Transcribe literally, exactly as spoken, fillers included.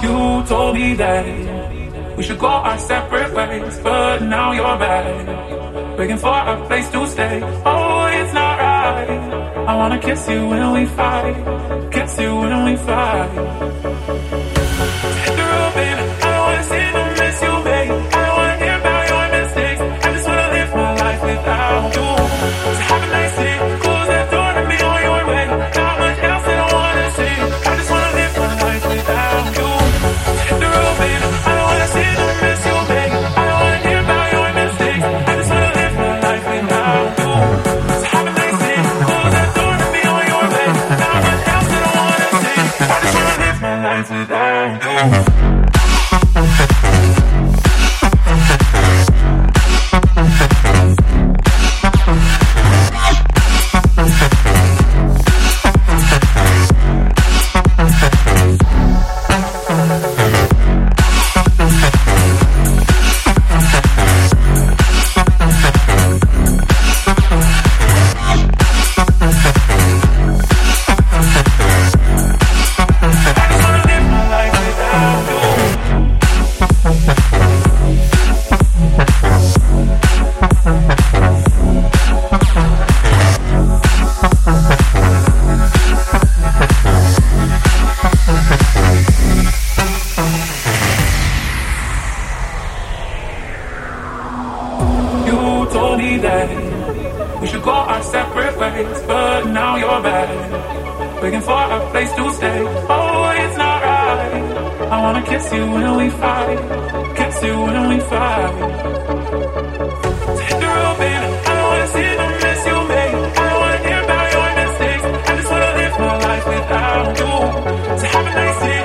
You told me that we should go our separate ways, but now you're back, begging for a place to stay. Oh, it's not right. I wanna kiss you when we fight, kiss you when we fight. Hit the road, baby. I don't wanna see no mess you make. I don't wanna hear about your mistakes. I just wanna live my life without you. So have a nice day. Close that door and be on your way. Not much else that I wanna say. I just wanna live my life without you. Hit the road, baby. I don't wanna see no mess you make. I don't wanna hear about your mistakes. I just wanna live my life without you. So have a nice day. Close that door and be on your way. Not much else that I wanna say. I just wanna live my life without you. We should go our separate ways, but now you're back, begging for a place to stay. Oh, it's not right. I wanna kiss you when we fight, kiss you when we fight. So hit the road, baby. I don't wanna see the mess you make. I don't wanna hear about your mistakes. I just wanna live my life without you. So have a nice day.